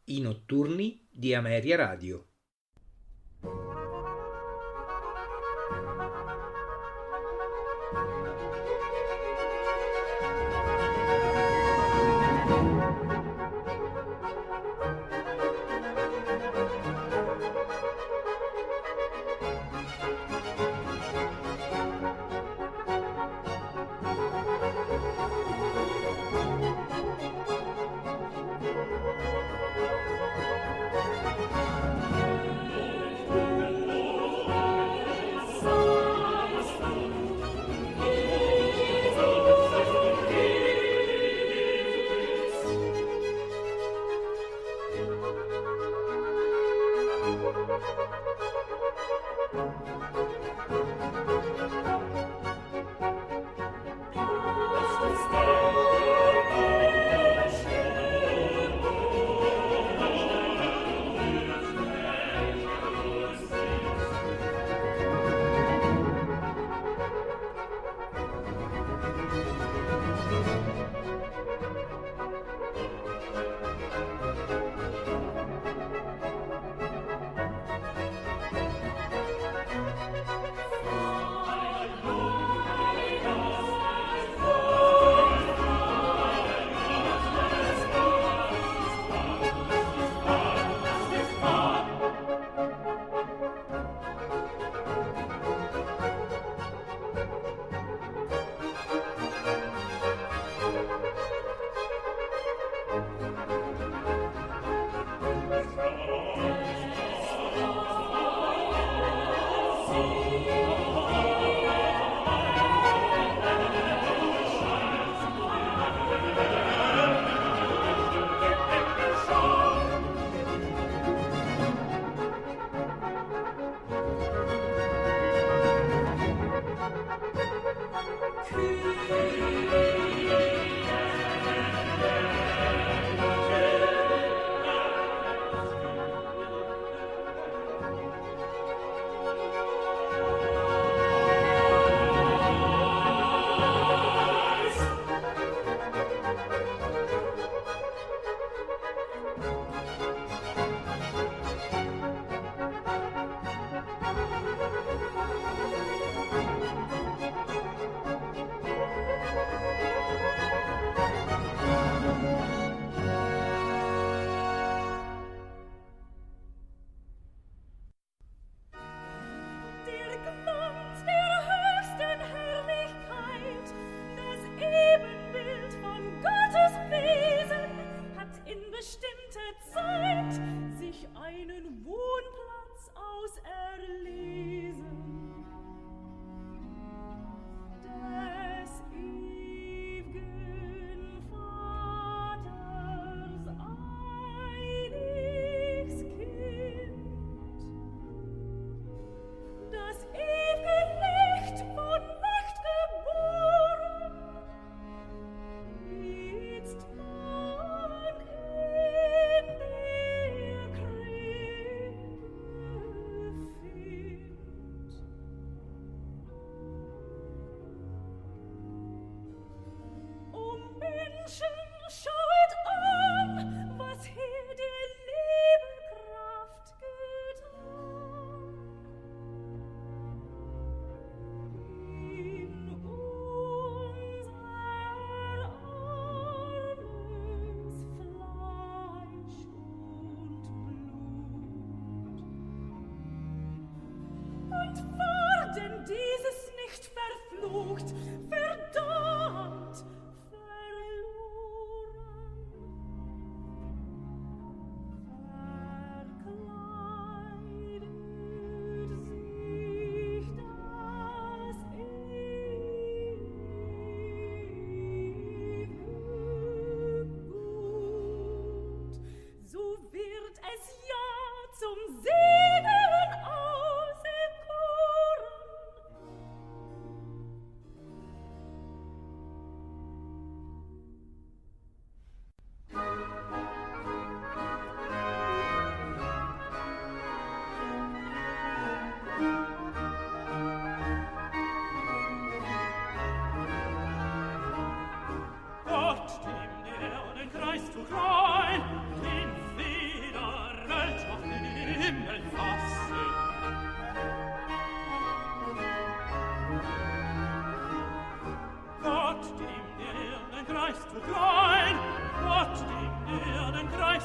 I notturni di Ameria Radio.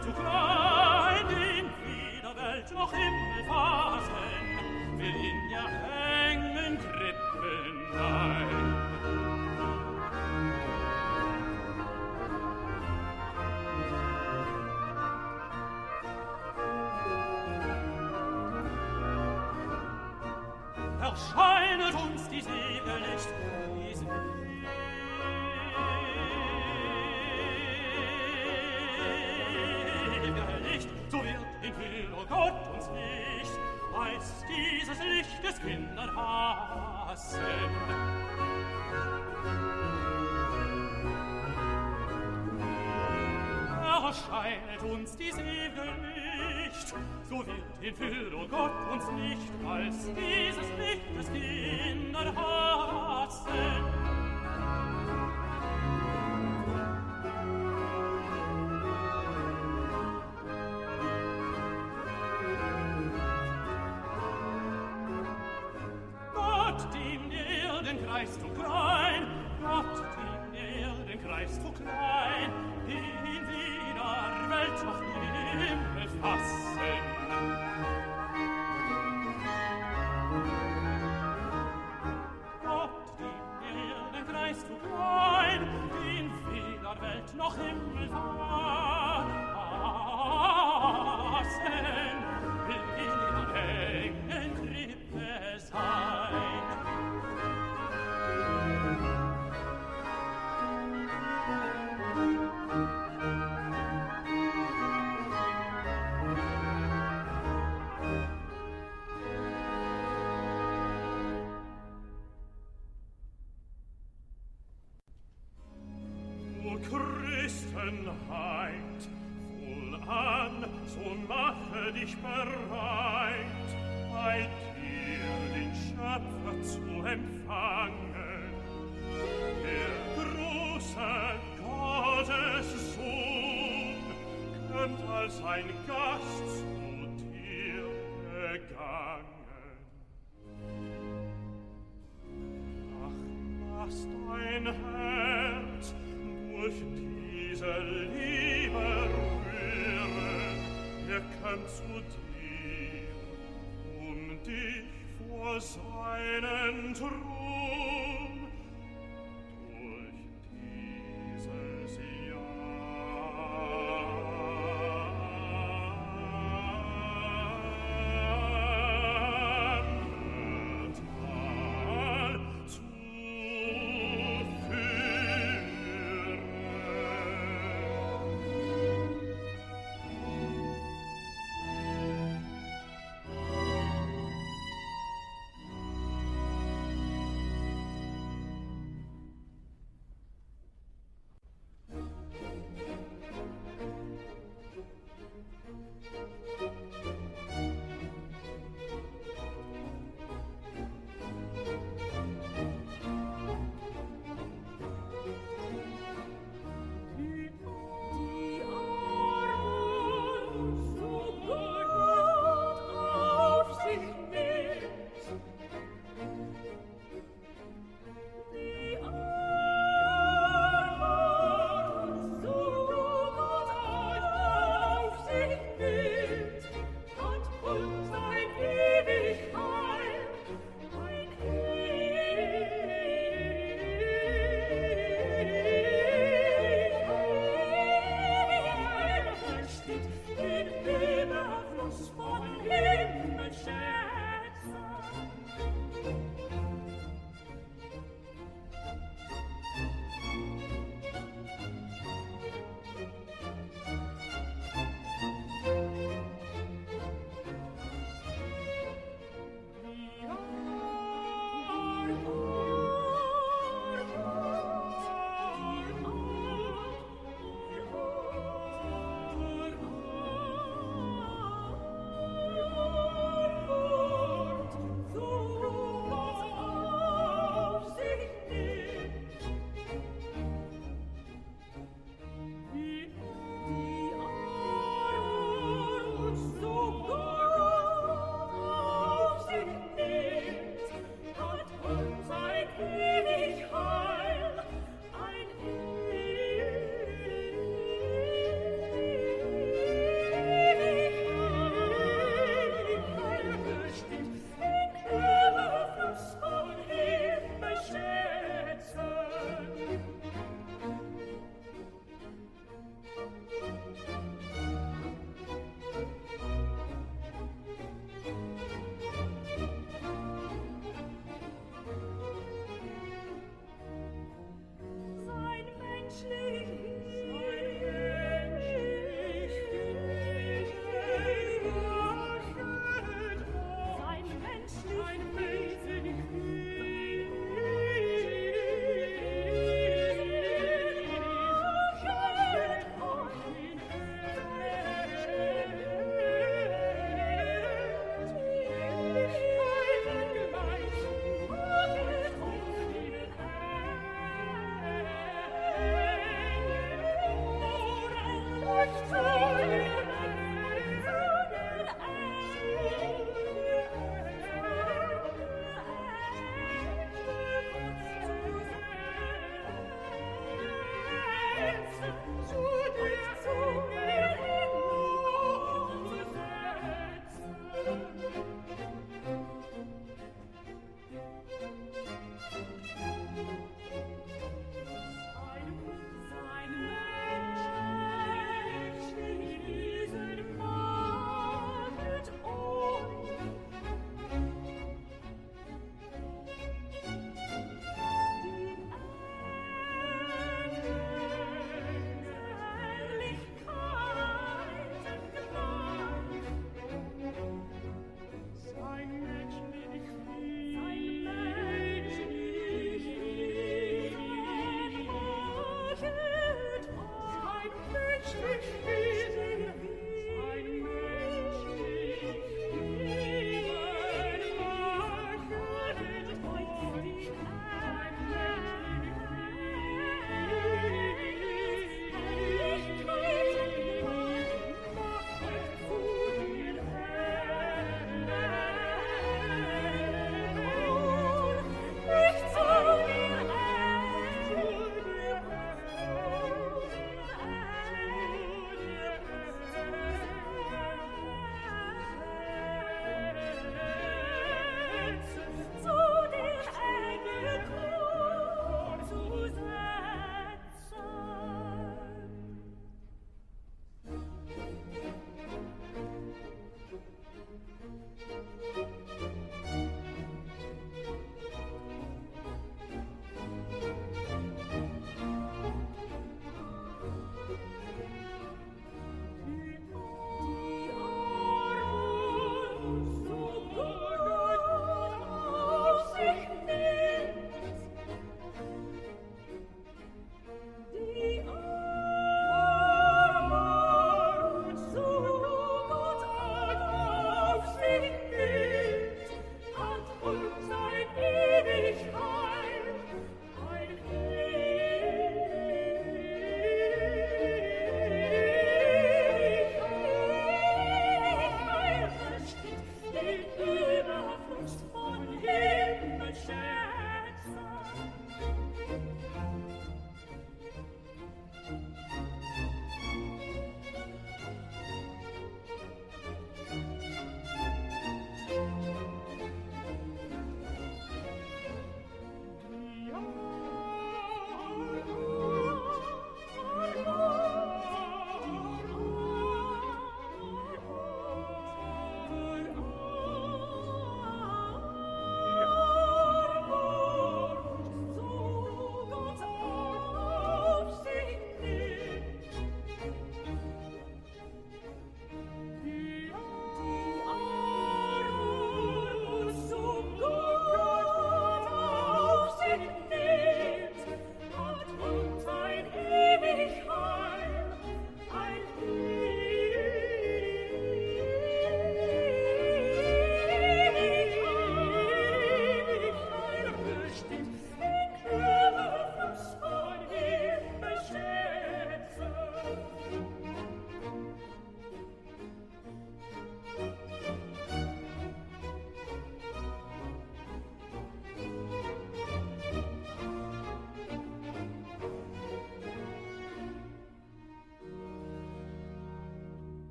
Greist du klein, in wieder Welt noch Himmel fassen, will in ihr engen Krippen ein. Erscheinet uns die Segellicht, die Segellicht, so wird in Himmel, o Gott, uns Licht, weiß dieses Licht des Kindern hassen. Erscheinet uns die Segellicht, so wird in Fülle, o Gott, uns nicht als dieses Licht des Kindern hassen. Gott, dem der Erdenkreis zu klein, Gott, dem der Erdenkreis zu klein, in wieder Welt noch Himmel fassen. Gott, dem der Erdenkreis zu klein, in wieder Welt noch Himmel fassen, will in ihrer engen Krippe sein. Christenheit, wohlan, so mache dich bereit, bei dir den Schöpfer zu empfangen. Der große Gottessohn kommt als ein Gast zu dir gegangen. Ach, lass dein Herz durch diese Liebe rühren, kommt zu dir, dich vor seinen Thron durch dieses Jammertal zu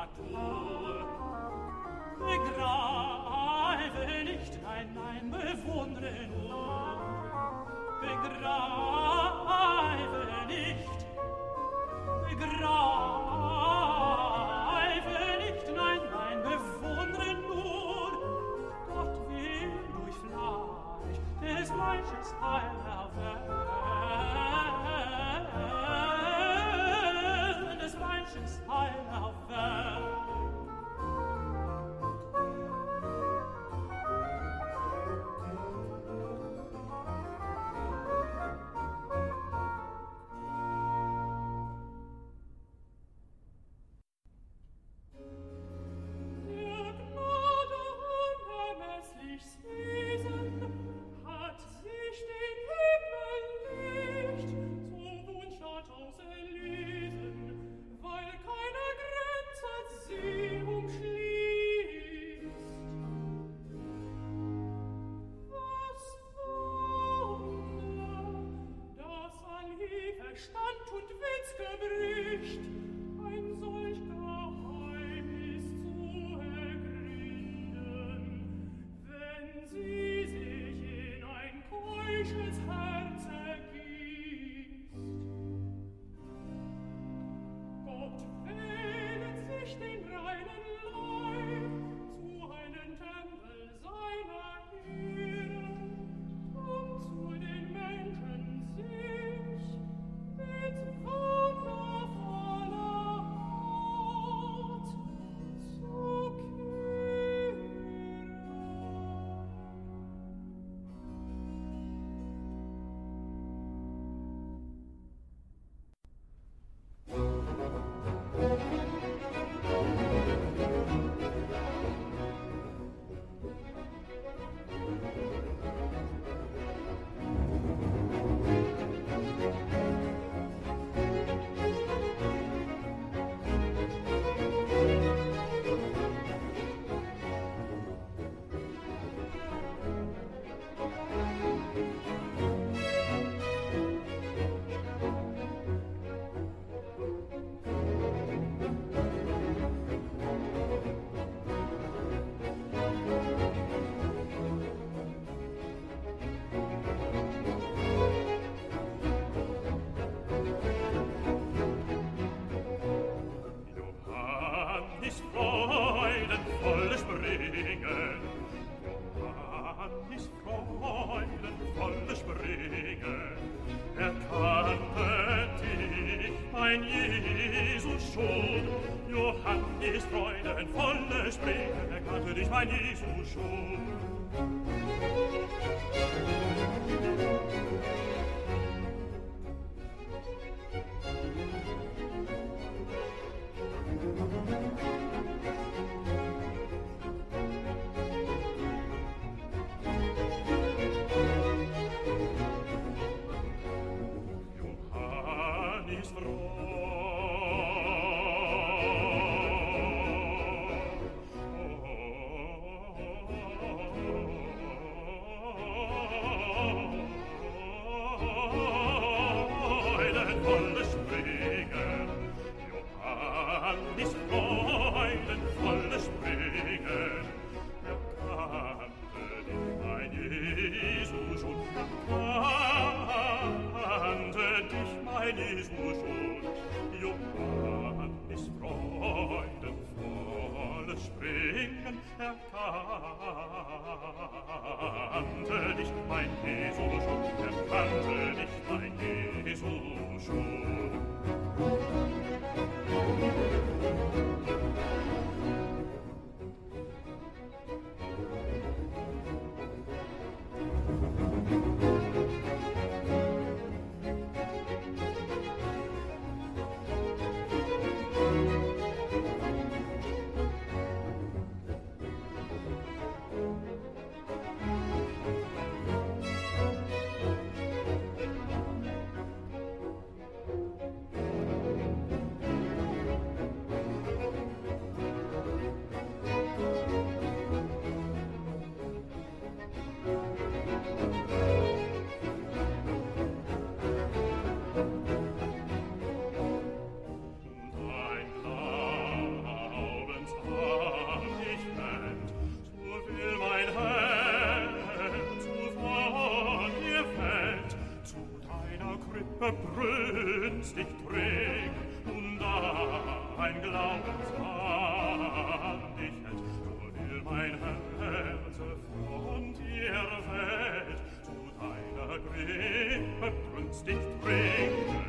Natur. Begreife nicht, nein, nein, bewundre nur. Begreife nicht, nein, nein, bewundre nur. Gott will durch Fleisch des Fleisches Heil erwählen, des Fleisches Heil erwählen. Verstand und Witz gebricht, ein solch Geheimnis zu ergründen, wenn sie sich in ein keusches Herz ergießt. Gott wählet sich den reinen Leib zu einem Tempel seiner Ehre und zu den Menschen sich mit wundervoller Art zu kehren. Johannes freudenvolle Springen, erkannte dich mein Jesus schon. Johannes freudenvolle Springen, erkannte dich mein Jesus schon, erkannte dich mein Jesus schon. Johannes freudenvolle Springen, erkannte dich mein Jesus schon, erkannte dich mein Jesus schon. verbrünstigt träg, und da ein Glaubensmann dich hält, so will mein Herz von dir fällt, zu deiner Grippe brünstigt trägen.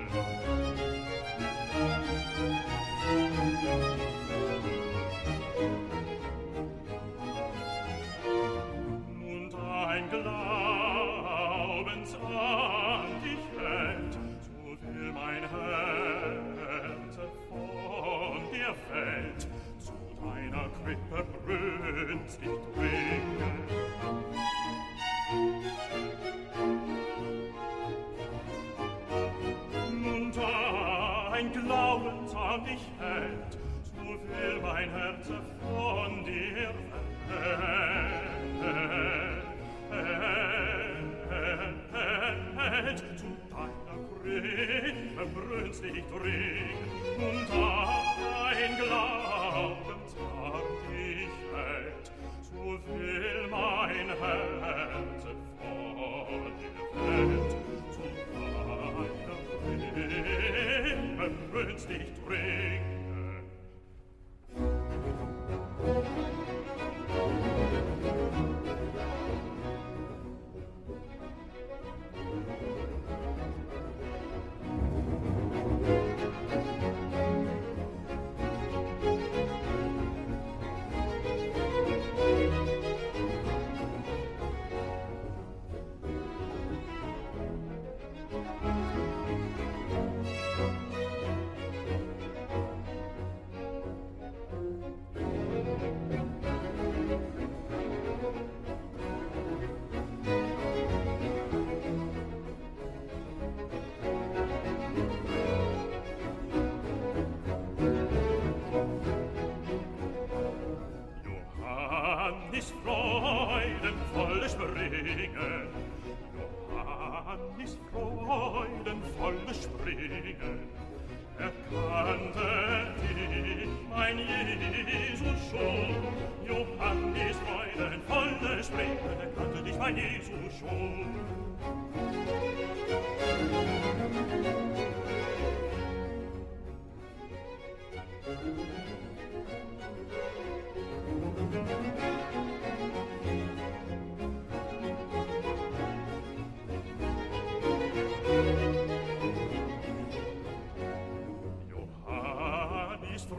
Und ein Glaubens an dich hält, so will mein Herz von dir fällt, zu deiner Krippe brünstigt bringen. Und ein Glaubens an dich hält, so will mein Herz von dir fällt, zu deiner Krippe brünstigt ringen. Und ein Glaubens an dich hält, so will mein Herz von dir fällt, zu deiner Krippe brünstigt ringen. Johannis freudenvolle Springen, Johannis freudenvolle Springen, erkannte dich, mein Jesus schon. Johannis freudenvolle Springen, erkannte dich, mein Jesus schon. Johannis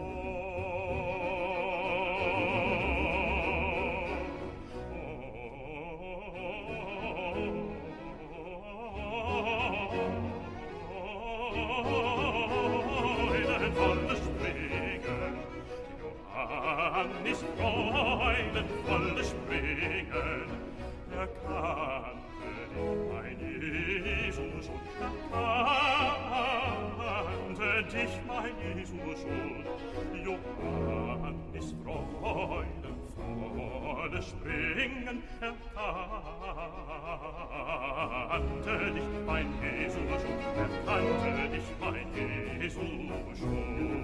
freudenvolle Springen, Johannis freudenvolle Springen, erkannte dich, mein Jesus, und erkannte dich, mein Jesus, und Johannis freudenvolle Springen, erkannte dich, mein Jesus, und erkannte dich, mein Jesus, schon.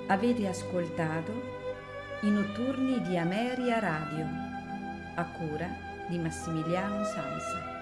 Avete ascoltato i notturni di Ameria Radio, a cura di Massimiliano Samsa.